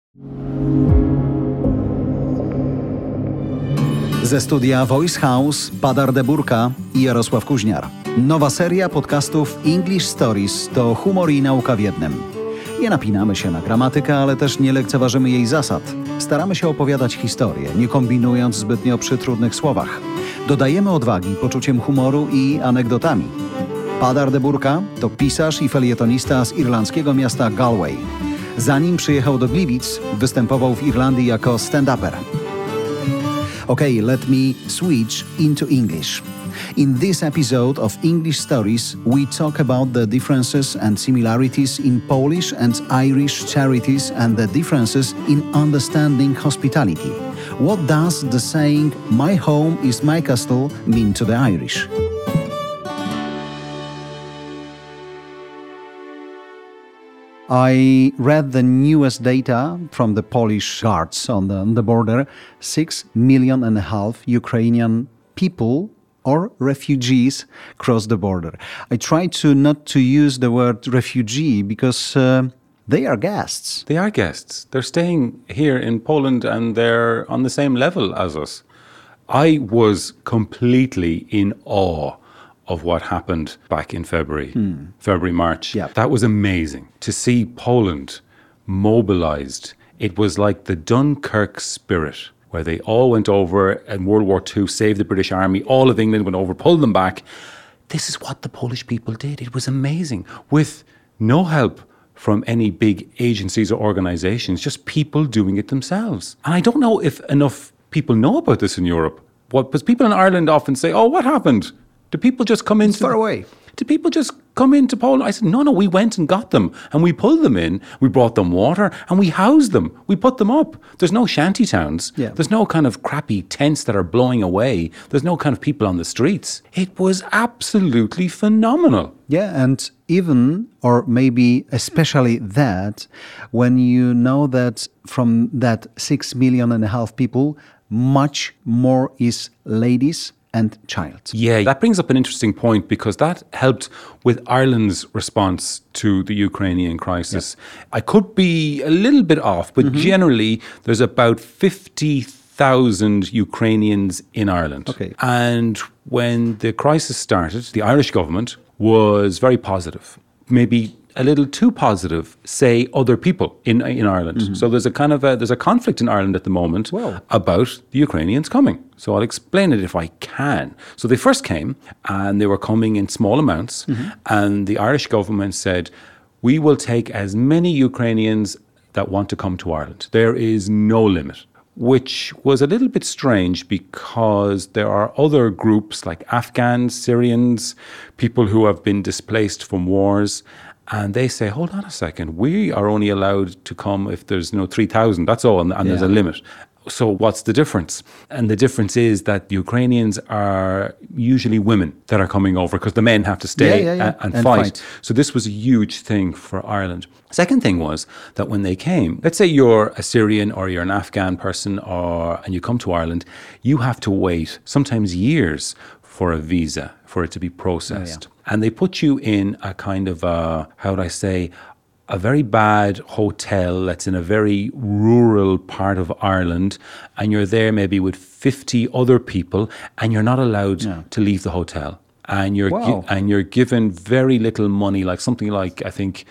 Ze studia Voice House Padar Deburka i Jarosław Kuźniar. Nowa seria podcastów English Stories to humor i nauka w jednym. Nie napinamy się na gramatykę, ale też nie lekceważymy jej zasad. Staramy się opowiadać historię, nie kombinując zbytnio przy trudnych słowach. Dodajemy odwagi poczuciem humoru i anegdotami. Padar Deburka to pisarz i felietonista z irlandzkiego miasta Galway. Zanim przyjechał do Gliwic, występował w Irlandii jako stand-uper. Okay, let me switch into English. In this episode of English Stories, we talk about the differences and similarities in Polish and Irish charities and the differences in understanding hospitality. What does the saying, "My home is my castle," mean to the Irish? I read the newest data from the Polish guards on the border. 6.5 million Ukrainian people or refugees cross the border. I try to not to use the word refugee because they are guests. They are guests. They're staying here in Poland and they're on the same level as us. I was completely in awe of what happened back in February, March. Yeah. That was amazing. To see Poland mobilized, it was like the Dunkirk spirit, where they all went over in World War II, saved the British Army, all of England went over, pulled them back. This is what the Polish people did. It was amazing. With no help from any big agencies or organizations, just people doing it themselves. And I don't know if enough people know about this in Europe. Because people in Ireland often say, oh, what happened? Do people just come in? Far away. Do people just come into Poland? I said, no, we went and got them and we pulled them in. We brought them water and we housed them. We put them up. There's no shanty towns. Yeah. There's no kind of crappy tents that are blowing away. There's no kind of people on the streets. It was absolutely phenomenal. Yeah, and even, or maybe especially that, when you know that from that 6.5 million people, much more is ladies and child. Yeah, that brings up an interesting point because that helped with Ireland's response to the Ukrainian crisis. Yeah. I could be a little bit off, but generally there's about 50,000 Ukrainians in Ireland. Okay. And when the crisis started, the Irish government was very positive, maybe a little too positive, say other people in Ireland. So there's a conflict in Ireland at the moment about the Ukrainians coming. So I'll explain it if I can. So they first came and they were coming in small amounts and the Irish government said, we will take as many Ukrainians that want to come to Ireland. There is no limit. Which was a little bit strange because there are other groups like Afghans, Syrians, people who have been displaced from wars. And they say, hold on a second, we are only allowed to come if there's 3,000, that's all, and there's a limit. So what's the difference? And the difference is that the Ukrainians are usually women that are coming over because the men have to stay and fight. So this was a huge thing for Ireland. Second thing was that when they came, let's say you're a Syrian or you're an Afghan person and you come to Ireland, you have to wait sometimes years for a visa, for it to be processed. And they put you in a kind of a very bad hotel that's in a very rural part of Ireland, and you're there maybe with 50 other people, and you're not allowed to leave the hotel. And you're given very little money, like something like, I think,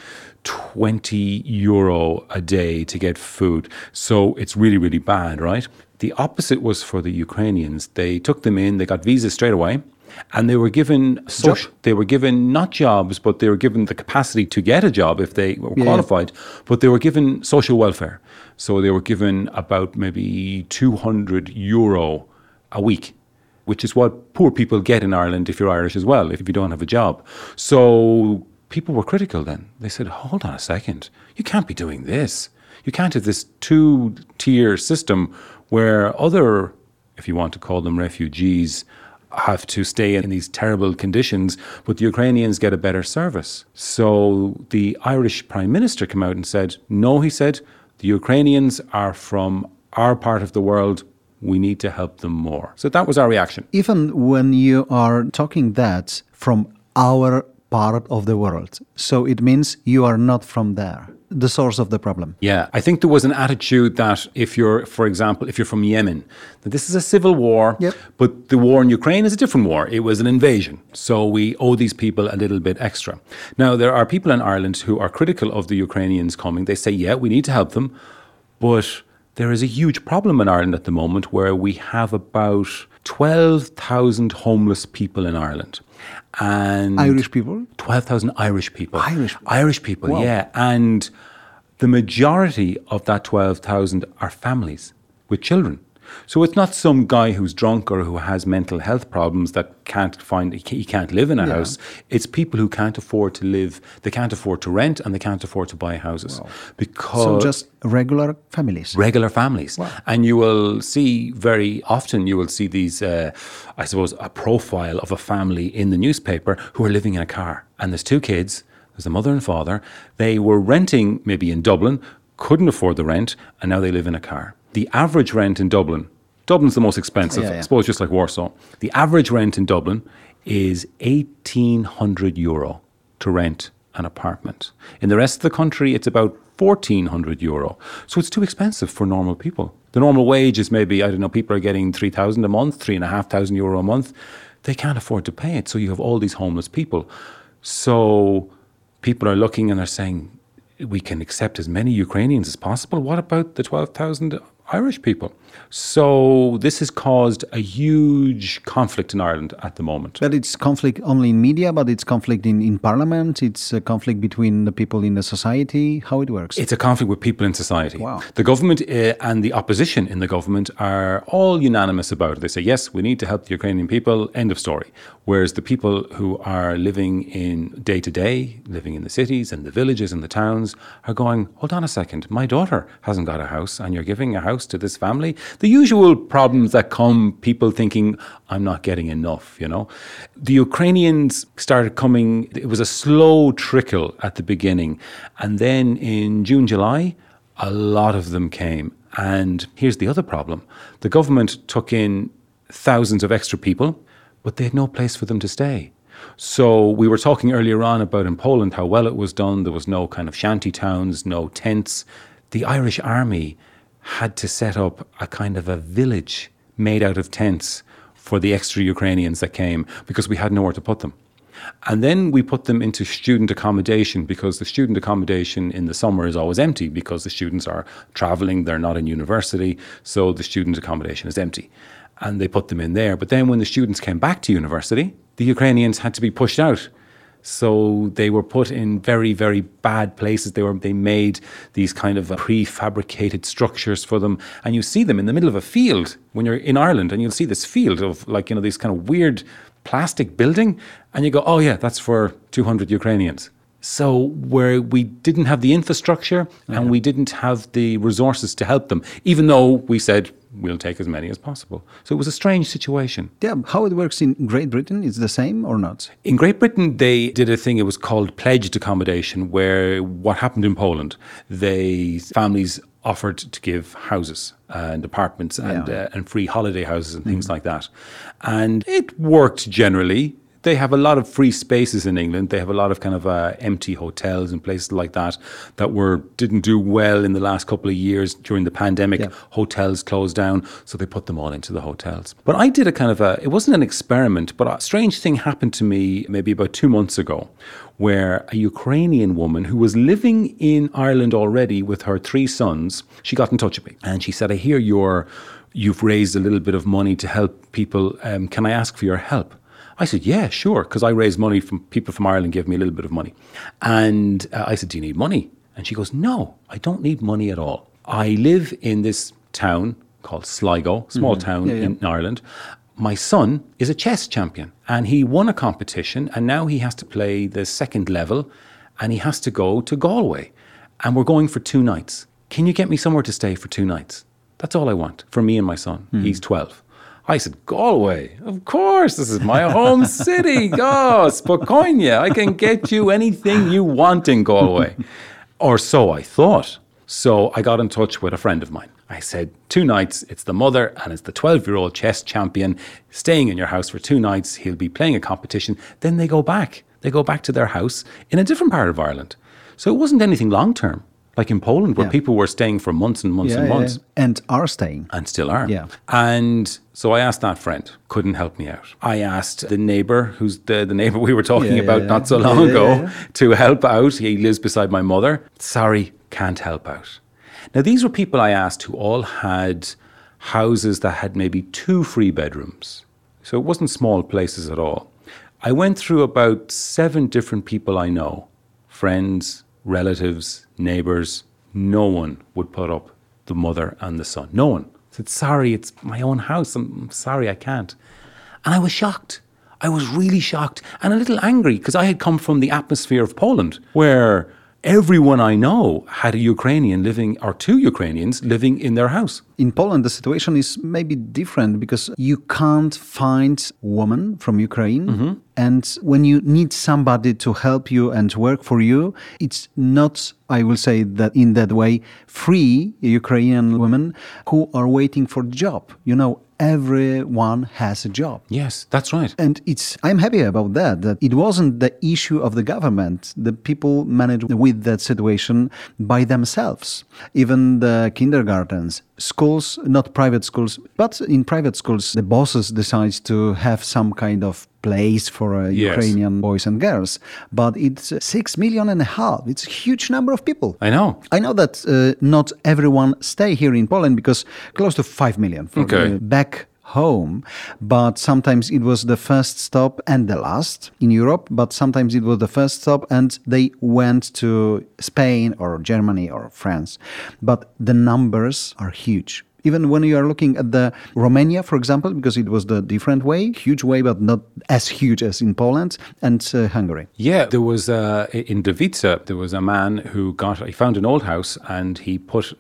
€20 a day to get food. So it's really, really bad, right? The opposite was for the Ukrainians. They took them in, they got visas straight away. And they were given they were given not jobs, but they were given the capacity to get a job if they were qualified. But they were given social welfare. So they were given about maybe €200 a week, which is what poor people get in Ireland if you're Irish as well, if you don't have a job. So people were critical then. They said, hold on a second, you can't be doing this. You can't have this two-tier system where other, if you want to call them refugees, have to stay in these terrible conditions, but the Ukrainians get a better service. So the Irish Prime Minister came out and said, no, he said, the Ukrainians are from our part of the world. We need to help them more. So that was our reaction. Even when you are talking that from our part of the world. So it means you are not from there, the source of the problem. Yeah, I think there was an attitude that if you're, for example, if you're from Yemen, that this is a civil war, Yep. but the war in Ukraine is a different war. It was an invasion. So we owe these people a little bit extra. Now, there are people in Ireland who are critical of the Ukrainians coming. They say, yeah, we need to help them, but there is a huge problem in Ireland at the moment where we have about 12,000 homeless people in Ireland. And Irish people? 12,000 Irish people. Irish people, Wow. yeah. And the majority of that 12,000 are families with children. So it's not some guy who's drunk or who has mental health problems that he can't live in a house. It's people who can't afford to live, they can't afford to rent and they can't afford to buy houses. Because So just regular families. regular families. And you will see very often, you will see these, I suppose, a profile of a family in the newspaper who are living in a car. And there's two kids, there's a mother and father. They were renting maybe in Dublin, couldn't afford the rent, and now they live in a car. The average rent in Dublin's the most expensive, I suppose, just like Warsaw. The average rent in Dublin is €1,800 to rent an apartment. In the rest of the country, it's about €1,400. So it's too expensive for normal people. The normal wage is maybe, I don't know, people are getting €3,000 a month, €3,500 a month. They can't afford to pay it. So you have all these homeless people. So people are looking and they're saying, we can accept as many Ukrainians as possible. What about the 12,000 Irish people? So this has caused a huge conflict in Ireland at the moment. But it's conflict only in media, but it's conflict in parliament, it's a conflict between the people in the society, how it works. It's a conflict with people in society. Wow. The government and the opposition in the government are all unanimous about it. They say, yes, we need to help the Ukrainian people, end of story. Whereas the people who are living in day-to-day, living in the cities and the villages and the towns are going, hold on a second, my daughter hasn't got a house and you're giving a house to this family? The usual problems that come, people thinking, I'm not getting enough, you know. The Ukrainians started coming, it was a slow trickle at the beginning. And then in June, July, a lot of them came. And here's the other problem. The government took in thousands of extra people, but they had no place for them to stay. So we were talking earlier on about in Poland how well it was done. There was no kind of shanty towns, no tents. The Irish army had to set up a kind of a village made out of tents for the extra Ukrainians that came because we had nowhere to put them. And then we put them into student accommodation because the student accommodation in the summer is always empty because the students are traveling, they're not in university, so the student accommodation is empty. And they put them in there. But then when the students came back to university, the Ukrainians had to be pushed out. So they were put in very, very bad places. They made these kind of prefabricated structures for them. And you see them in the middle of a field when you're in Ireland, and you'll see this field of like, you know, this kind of weird plastic building. And you go, oh yeah, that's for 200 Ukrainians. So where we didn't have the infrastructure and we didn't have the resources to help them, even though we said we'll take as many as possible. So it was a strange situation. Yeah, how it works in Great Britain, is the same or not? In Great Britain, they did a thing, it was called pledged accommodation, where what happened in Poland, families offered to give houses and apartments and free holiday houses and things like that. And it worked generally. They have a lot of free spaces in England. They have a lot of kind of empty hotels and places like that didn't do well in the last couple of years during the pandemic. Yeah. Hotels closed down, so they put them all into the hotels. But I did it wasn't an experiment, but a strange thing happened to me maybe about 2 months ago, where a Ukrainian woman who was living in Ireland already with her 3 sons, she got in touch with me and she said, I hear you've raised a little bit of money to help people. Can I ask for your help? I said, yeah, sure, because I raise money from people from Ireland, give me a little bit of money. And I said, do you need money? And she goes, no, I don't need money at all. I live in this town called Sligo, small town in Ireland. My son is a chess champion and he won a competition and now he has to play the second level and he has to go to Galway. And we're going for 2 nights. Can you get me somewhere to stay for 2 nights? That's all I want for me and my son. He's 12. I said, Galway, of course, this is my home city. Oh, Spokane, I can get you anything you want in Galway. Or so I thought. So I got in touch with a friend of mine. I said, 2 nights, it's the mother and it's the 12-year-old chess champion staying in your house for 2 nights. He'll be playing a competition. Then they go back. They go back to their house in a different part of Ireland. So it wasn't anything long term, like in Poland, where people were staying for months and months and months. Yeah. And are staying. And still are. Yeah. And so I asked that friend, couldn't help me out. I asked the neighbour, who's the neighbour we were talking about not so long ago, to help out. He lives beside my mother. Sorry, can't help out. Now, these were people I asked who all had houses that had maybe 2 free bedrooms. So it wasn't small places at all. I went through about 7 different people I know, friends, relatives, neighbours. No one would put up the mother and the son. No one. I said, sorry, it's my own house. I'm sorry, I can't. And I was shocked. I was really shocked and a little angry because I had come from the atmosphere of Poland where everyone I know had a Ukrainian living, or 2 Ukrainians living in their house. In Poland, the situation is maybe different because you can't find women from Ukraine. And when you need somebody to help you and work for you, it's not, I will say that in that way, free Ukrainian women who are waiting for a job. You know, everyone has a job. Yes, that's right. And I'm happy about that it wasn't the issue of the government. The people managed with that situation by themselves. Even the kindergartens, schools, not private schools, but in private schools, the bosses decide to have some kind of place for Ukrainian boys and girls. But it's 6.5 million. It's a huge number of people. I know that not everyone stay here in Poland because close to 5 million back home. But sometimes it was the first stop and the last in Europe. But sometimes it was the first stop and they went to Spain or Germany or France. But the numbers are huge. Even when you are looking at the Romania, for example, because it was the different way, huge way, but not as huge as in Poland, and Hungary. Yeah, there was, in Davica, there was a man who he found an old house and he put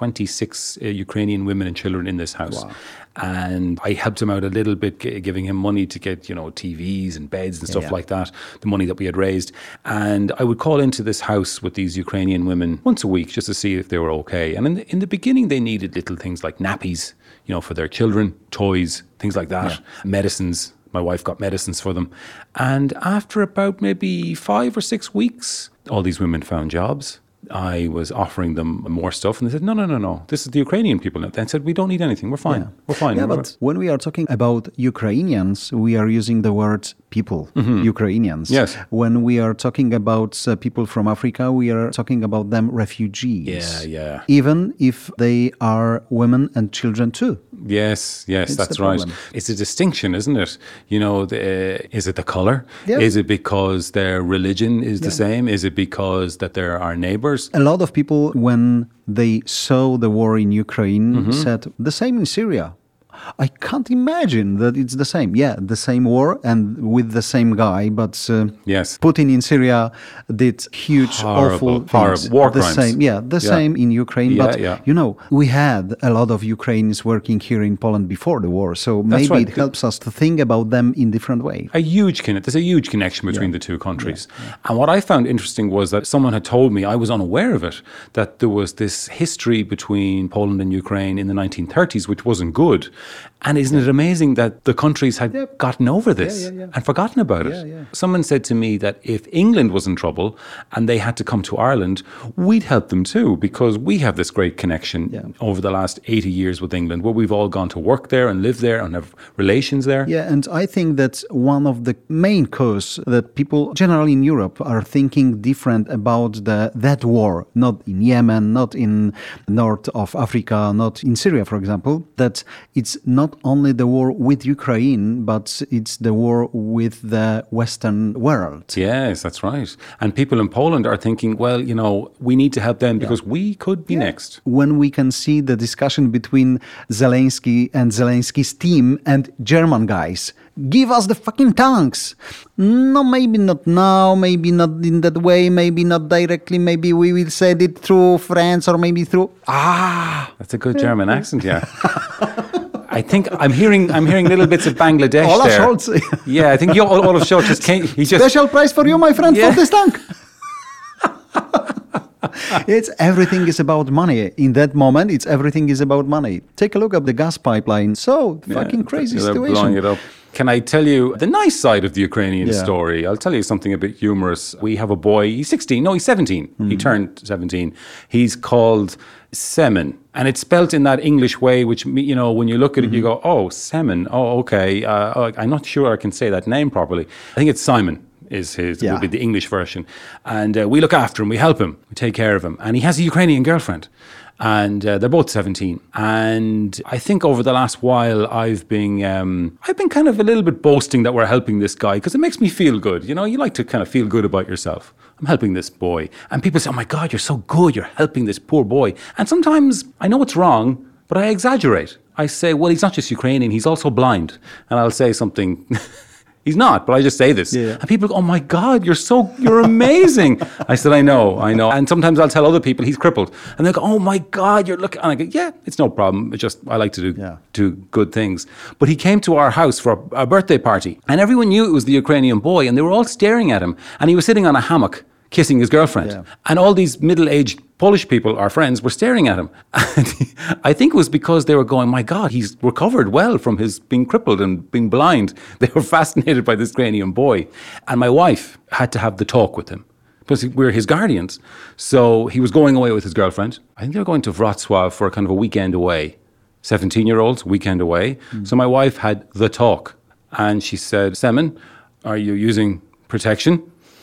26 Ukrainian women and children in this house. Wow. And I helped him out a little bit, giving him money to get, TVs and beds and stuff like that, the money that we had raised. And I would call into this house with these Ukrainian women once a week just to see if they were okay. And in the beginning, they needed little things like nappies, for their children, toys, things like that, medicines. My wife got medicines for them. And after about maybe 5 or 6 weeks, all these women found jobs. I was offering them more stuff and they said, no, this is the Ukrainian people. They said, we don't need anything. We're fine. We're fine. Yeah, but when we are talking about Ukrainians, we are using the word people, Ukrainians. Yes. When we are talking about people from Africa, we are talking about them refugees. Yeah. Even if they are women and children too. Yes, that's right. It's a distinction, isn't it? Is it the color? Yeah. Is it because their religion is the same? Is it because that they're our neighbors? A lot of people, when they saw the war in Ukraine, said the same in Syria. I can't imagine that it's the same. Yeah, the same war and with the same guy, but Putin in Syria did huge, awful things. War crimes. Same in Ukraine. We had a lot of Ukrainians working here in Poland before the war, so maybe it helps us to think about them in different way. There's a huge connection between the two countries. And what I found interesting was that someone had told me, I was unaware of it, that there was this history between Poland and Ukraine in the 1930s, which wasn't good. And isn't it amazing that the countries had gotten over this and forgotten about it? Yeah. Someone said to me that if England was in trouble and they had to come to Ireland, we'd help them too, because we have this great connection over the last 80 years with England, where we've all gone to work there and live there and have relations there. Yeah, and I think that's one of the main causes that people generally in Europe are thinking different about that war, not in Yemen, not in north of Africa, not in Syria, for example, that it's not only the war with Ukraine, but it's the war with the Western world. Yes, that's right. And people in Poland are thinking, well, we need to help them because we could be next. When we can see the discussion between Zelensky and Zelensky's team and German guys, give us the fucking tanks. No, maybe not now, maybe not in that way, maybe not directly, maybe we will send it through France or maybe through... That's a good German accent, yeah. I think I'm hearing little bits of Bangladesh Olaf there. Scholz. Yeah, I think Olaf Scholz just came. Special prize for you, my friend, for this tank. It's everything is about money. In that moment, everything is about money. Take a look at the gas pipeline. So fucking crazy They're situation. blowing it up. Can I tell you the nice side of the Ukrainian Yeah. story? I'll tell you something a bit humorous. We have a boy, he's 16, no, he's 17. He turned 17. He's called Semen. And it's spelt in that English way, which, you know, when you look at it, you go, oh, Semen. Oh, okay. I'm not sure I can say that name properly. I think it's Simon. Would be the English version. And we look after him, we help him, we take care of him. And he has a Ukrainian girlfriend. And they're both 17. And I think over the last while, I've been kind of a little bit boasting that we're helping this guy because it makes me feel good. You know, you like to kind of feel good about yourself. I'm helping this boy. And people say, oh my God, you're so good. You're helping this poor boy. And sometimes I know it's wrong, but I exaggerate. I say, well, he's not just Ukrainian, he's also blind. And I'll say something... He's not, but I just say this. Yeah. And people go, oh my God, you're amazing. I said, I know. And sometimes I'll tell other people he's crippled. And they go, oh my God, you're looking. And I go, yeah, it's no problem. It's just, I like to do good things. But he came to our house for a birthday party. And everyone knew it was the Ukrainian boy. And they were all staring at him. And he was sitting on a hammock, kissing his girlfriend. Yeah. And all these middle-aged Polish people, our friends, were staring at him. And I think it was because they were going, my God, he's recovered well from his being crippled and being blind. They were fascinated by this Ukrainian boy. And my wife had to have the talk with him because we're his guardians. So he was going away with his girlfriend. I think they were going to Wrocław for a kind of a weekend away. 17-year-olds, weekend away. So my wife had the talk. And she said, Semen, are you using protection?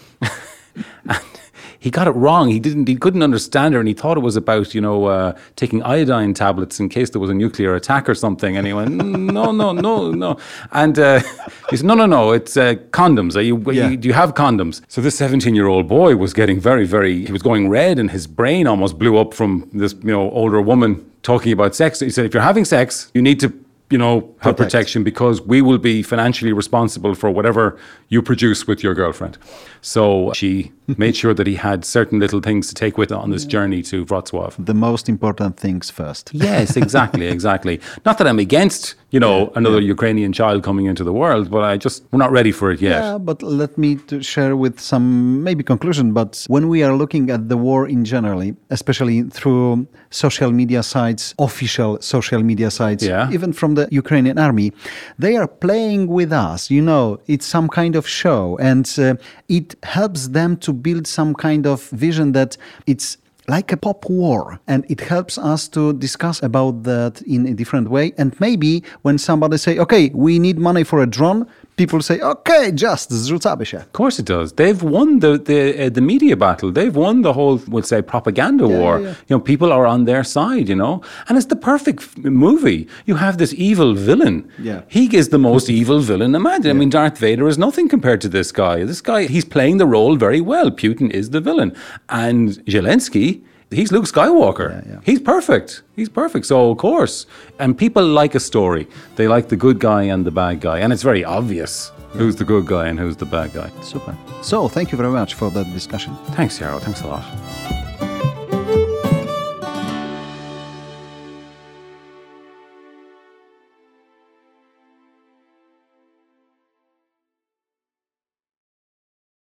And he got it wrong. He couldn't understand her, and he thought it was about, taking iodine tablets in case there was a nuclear attack or something. And he went, no. And he said, no, it's condoms. Do you have condoms? So this 17-year-old boy was getting he was going red, and his brain almost blew up from this, older woman talking about sex. He said, if you're having sex, you need to have protection because we will be financially responsible for whatever you produce with your girlfriend. So she made sure that he had certain little things to take with on this journey to Wrocław. The most important things first. Yes, exactly. Not that I'm against, another Ukrainian child coming into the world, but we're not ready for it yet. Yeah, but let me share with some maybe conclusion. But when we are looking at the war in generally, especially through social media sites, official social media sites, even from the Ukrainian army, they are playing with us. It's some kind of show, and it helps them to build some kind of vision that it's like a pop war, and it helps us to discuss about that in a different way. And maybe when somebody say, okay, we need money for a drone, people say, okay, just zrzucamy się. Of course it does. They've won the media battle. They've won the whole, we'll say, propaganda war. Yeah. People are on their side, and it's the perfect movie. You have this evil villain. Yeah. He is the most evil villain imagined. Yeah. I mean, Darth Vader is nothing compared to this guy. This guy, he's playing the role very well. Putin is the villain. And Zelensky, he's Luke Skywalker. Yeah. He's perfect. So, of course. And people like a story. They like the good guy and the bad guy. And it's very obvious who's the good guy and who's the bad guy. Super. So, thank you very much for that discussion. Thanks, Yarrow. Thanks a lot.